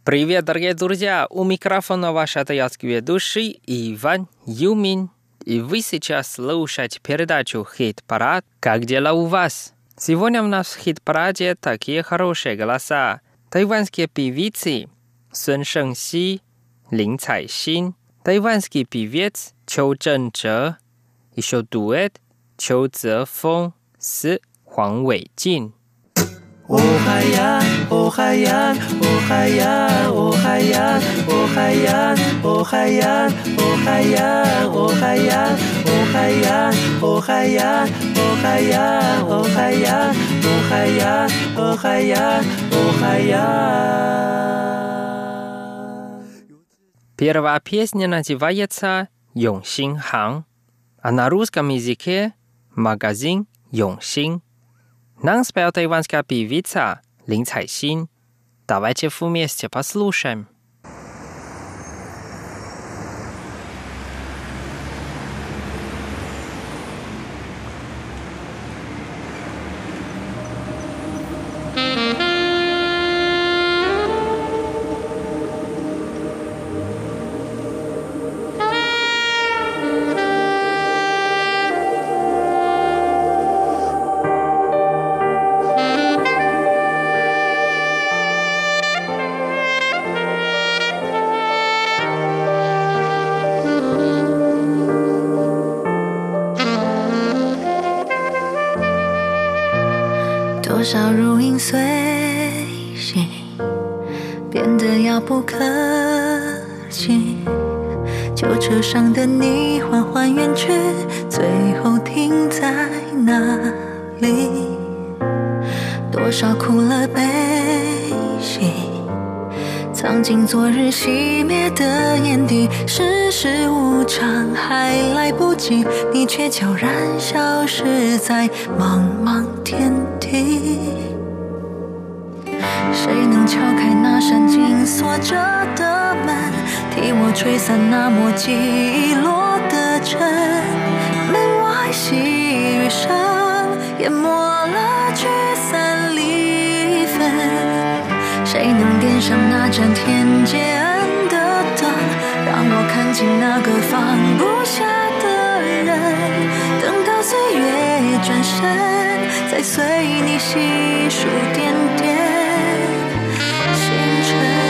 Привет, дорогие друзья! У микрофона ваш атаятский ведущий Иван Юмин. И вы сейчас слушаете передачу «Хит-парад». Как дела у вас? Сегодня у нас в хит-параде такие хорошие голоса. Тайванские певицы Сун Шэньси, Лин Цайсин, тайванский певец Чжоу Чжэнчжэ, еще дуэт Чжоу Цзэфэн с Хуан Вэйжин. Oh Haiyan, oh Haiyan, oh Haiyan, oh Haiyan, oh Haiyan, oh Haiyan, oh Haiyan, oh Haiyan, oh Haiyan, oh Haiyan, oh Haiyan, oh Haiyan, oh Haiyan, oh Haiyan, oh Haiyan. Первая песня называется «Йонсин Хан», а на русском языке «Магазин Йонсин». Нам спела тайванская певица Лин Цайсин. Давайте вместе послушаем. 多少如影随形，变得遥不可及。旧车上的你缓缓远去，最后停在哪里？多少哭了悲喜，藏进昨日熄灭的眼底。世事无常，还来不及，你却悄然消失在茫茫天地。谁能敲开那扇紧锁着的门，替我吹散那抹记忆落的尘？门外细雨声淹没了聚散离分，谁能点上那盏天阶暗的灯，让我看清那个放不下的人？等到岁月转身，再随你细数点点星辰。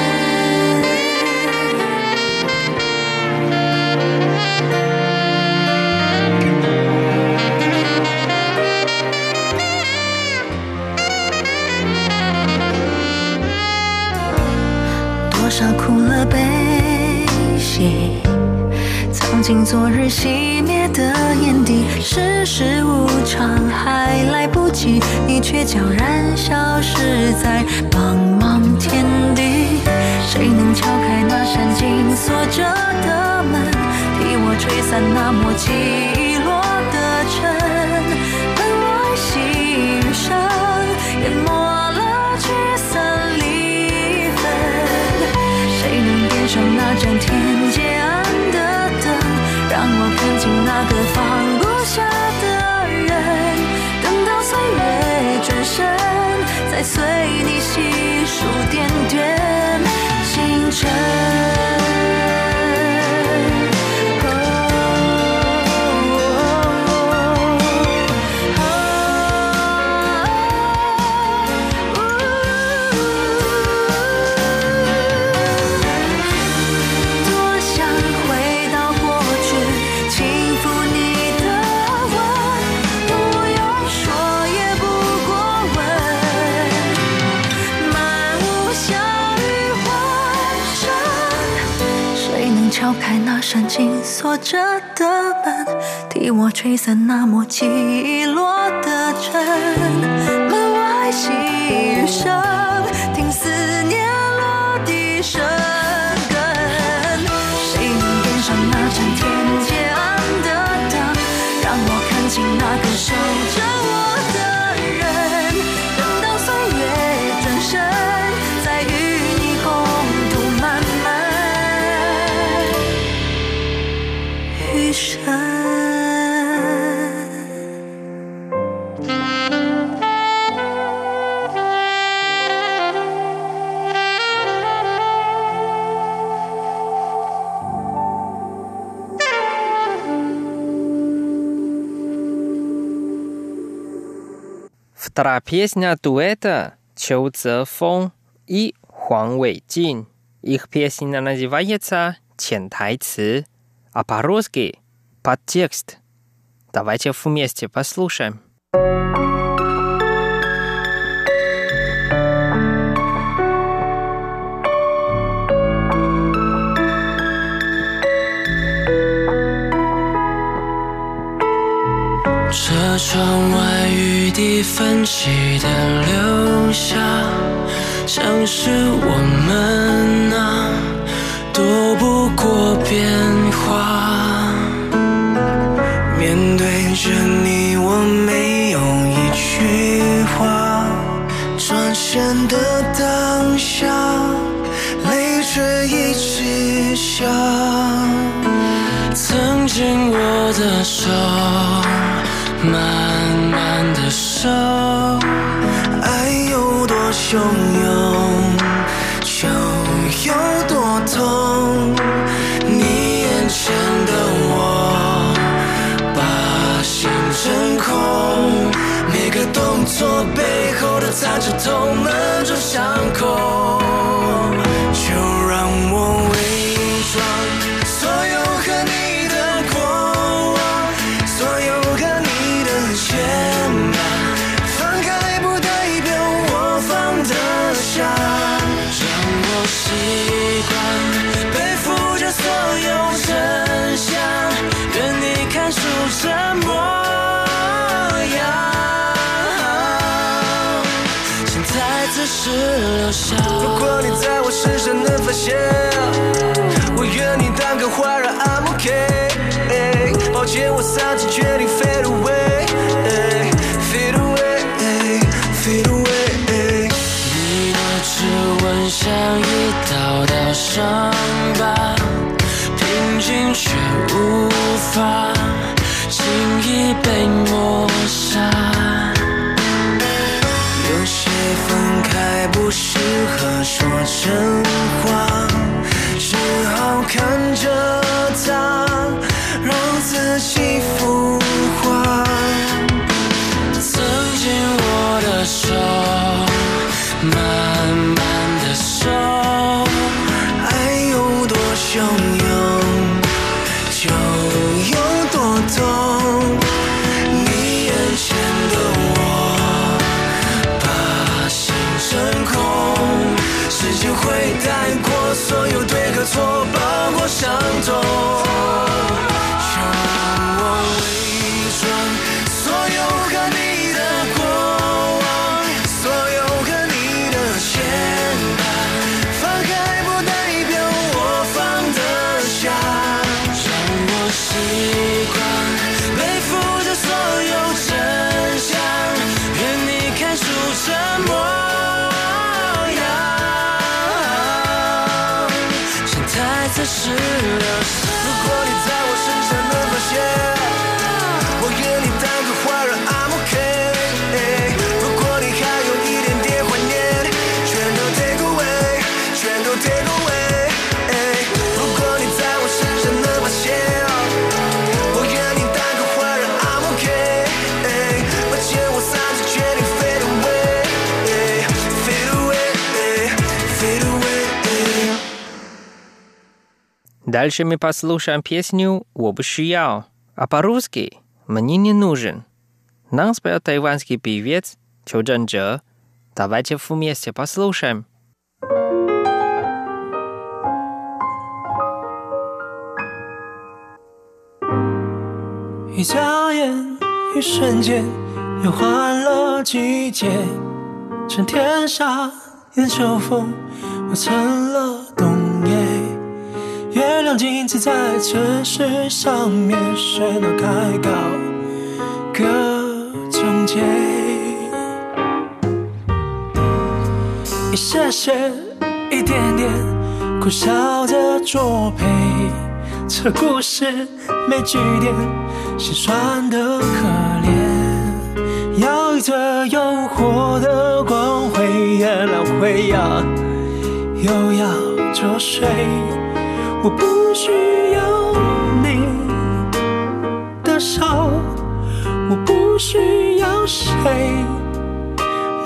多少哭了悲喜，藏进昨日熄灭的眼底。世事无常，还来不及，你却悄然消失在茫茫天地。谁能敲开那扇紧锁着的门，替我吹散那抹记忆落的尘？门外细雨声淹没了聚散离分，谁能点上那盏天阶暗的灯，让我看清那个放不下的人？等到岁月转身，再随你细数点点星辰。敲开那扇紧锁着的门，替我吹散那抹记忆落的尘。门外细雨声，听思念落地生根。谁能点上那盏天阶暗的灯，让我看清那个守着我的人？等到岁月转身，再与你共度漫漫余生。 Вторая песня дуэта Чжоу Цзефeng и Хуан Вэйjin. Их песня называется «Чен тайцы», а по-русски «Подтекст». Давайте вместе послушаем. 车窗外雨滴分析的留下，像是我们啊，躲不过变化。面对着你，我没有一句话，转身的当下，泪却一直下。曾经握的手，慢慢的手，爱有多汹涌，就有多痛。你眼前的我，把心真空，每个动作背后都藏着痛，闷着伤口。就让我伪装所有和你的过往，所有和你的牵绊，放开不代表我放得下，让我习惯背负着所有真相，愿你看出这模样，现在只是留下。如果你在我身上能发现，我愿你当个花儿 I'm okay。抱歉，我丧气决定 fade away， fade away， fade away。你的指纹像一道道伤疤，平静却无法轻易被抹杀。有些分开不适合说真话，只好看着它，让自己腐化。曾经握的手，慢慢的手，爱有多汹涌，就有多痛。你眼前的我，把心真空，时间会带过所有对和错，包括伤痛。如果你在我身上能发现，我愿你当个花儿 I'm okay。如果你还有一点点怀念，全都 take away， 全都 take away。如果你在我身上能发现，我愿你当个花儿 I'm okay。抱歉，我丧气决定 fade away，fade away，fade away。 Дальше мы послушаем песню «我不需要», а по-русски «мне не нужен». Нам спел тайванский певец Чжоу Цзефeng. Давайте вместе послушаем. 一眨眼，一瞬间，又换了季节。趁天下烟秋风，我成了冬夜。月亮镜子在城市上面喧闹开高，各种街。一些些，一点点，苦笑着作陪。这故事没句点，心酸的可怜。要一则诱惑的光辉，原谅会要，又要作祟。我不需要你的笑，我不需要谁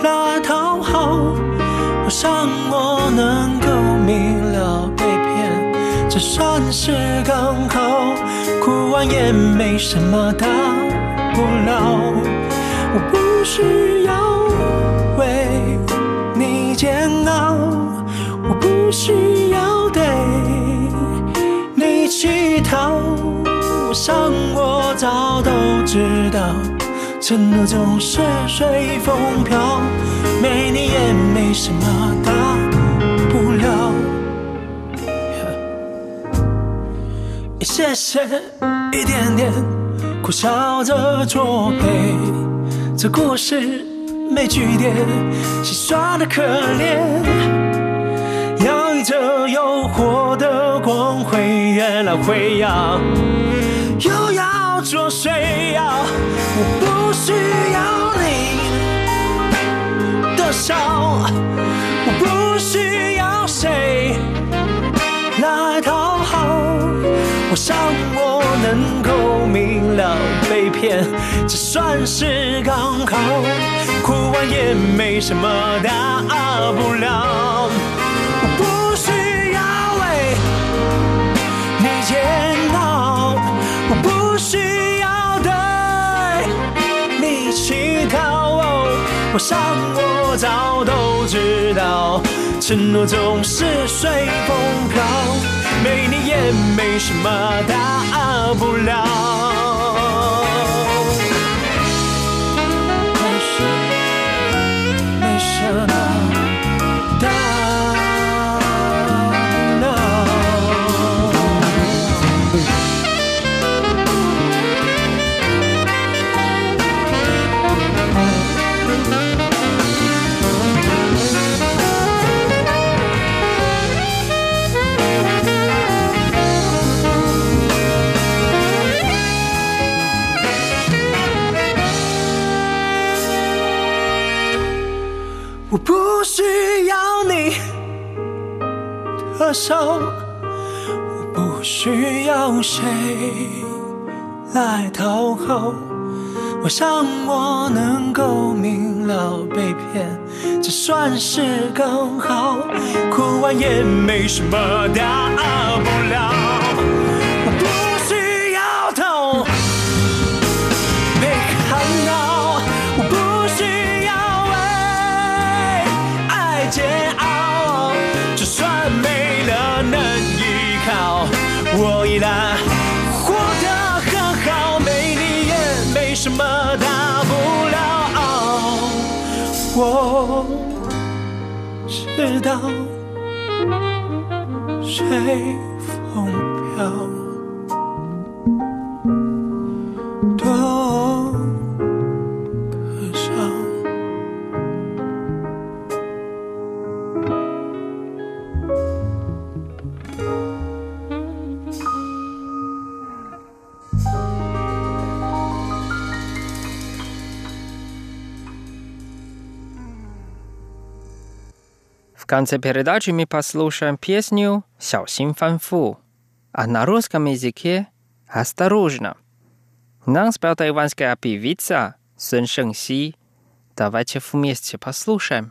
来讨好，我想我能够明了被骗，这算是刚好，哭完也没什么大不了。我不需要为你煎熬，我不需要对你乞讨，我想我早都知道，承诺总是随风飘，没你也没什么大不了。一些些一点点苦笑着作陪，这故事没句点，戏耍的可怜，洋溢着诱惑的光辉，越来会要又要做谁呀？我不需要你的笑，我不需要谁来讨好，我想我能够明了被骗，这算是刚好，哭完也没什么大不了。我不需要为你煎熬，我不需要对你乞讨，我想我早都知道，承诺总是随风飘，没你也没什么大不了。没什么大不了。我不需要你的手，我不需要谁来讨好，我想我能够明了被骗，这算是刚好，哭完也没什么大不了。我不需要痛被看到，我不需要为爱煎熬，就算没了能依靠，我依然活得很好，没你也没什么大不了。我知道随风飘，多可笑。 В конце передачи мы послушаем песню «Сяосин фанфу», а на русском языке «Осторожно». Нам спела тайванская певица Сун Шэньси. Давайте вместе послушаем.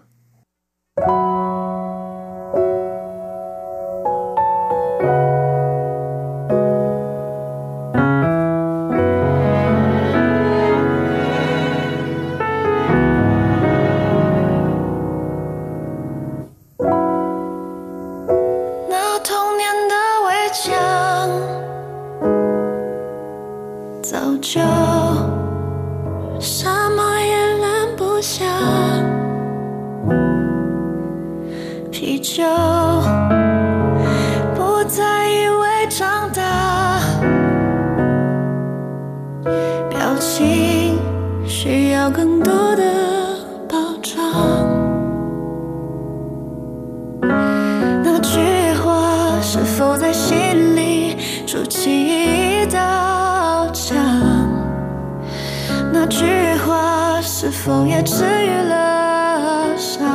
是否也治愈了伤？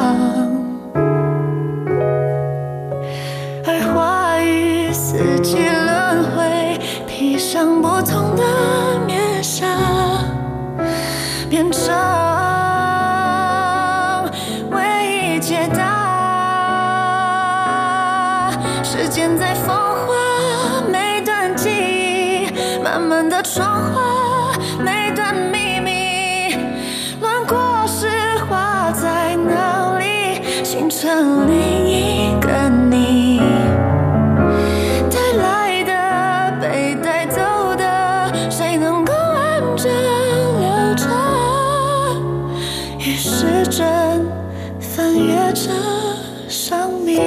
而话语四季轮回，披上不同的面纱，变成已解答。时间在风化每段记忆，慢慢的创化每段秘密，乱过时花在哪里，形成另一个你。带来的被带走的，谁能够完整留着？与时针翻阅着生命。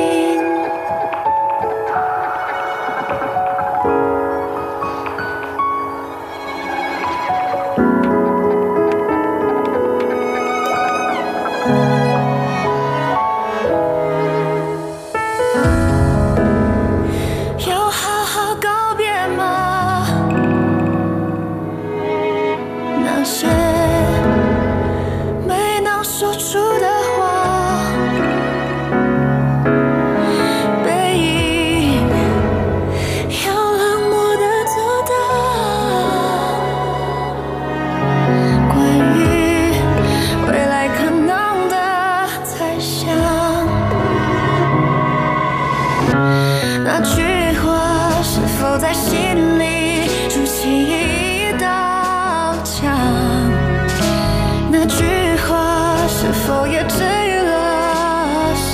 那句话是否在心里筑起一道墙？那句话是否也治愈了伤？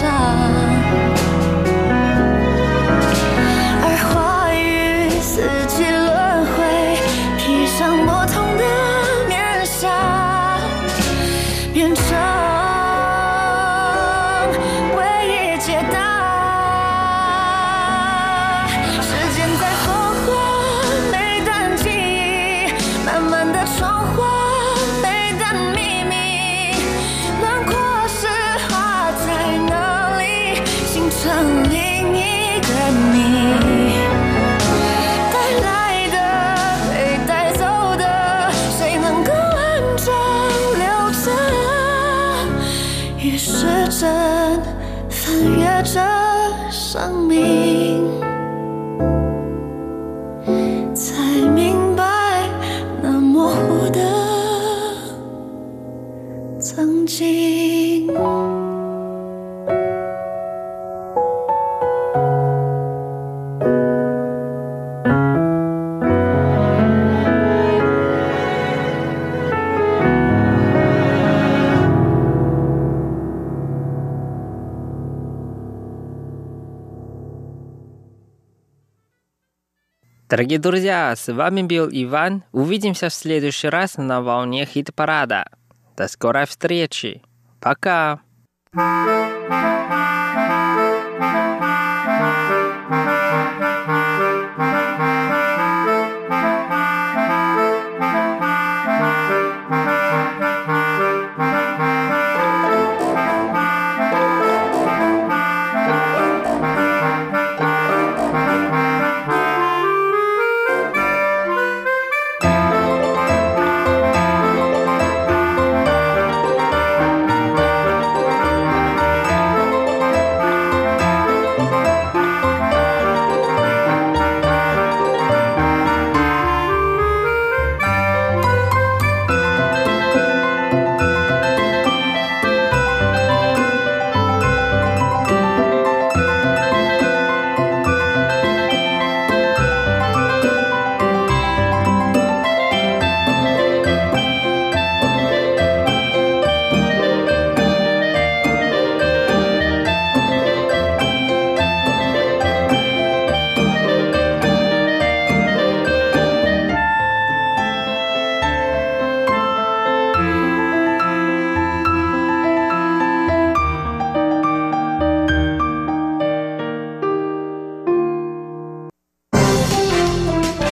而花与四季轮回，披上不同的面纱，变成唯一解答。成另一个你，带来的被带走的，谁能够完整留着？与时针翻阅着生命，才明白那模糊的曾经。 Дорогие друзья, с вами был Иван. Увидимся в следующий раз на волне хит-парада. До скорой встречи. Пока.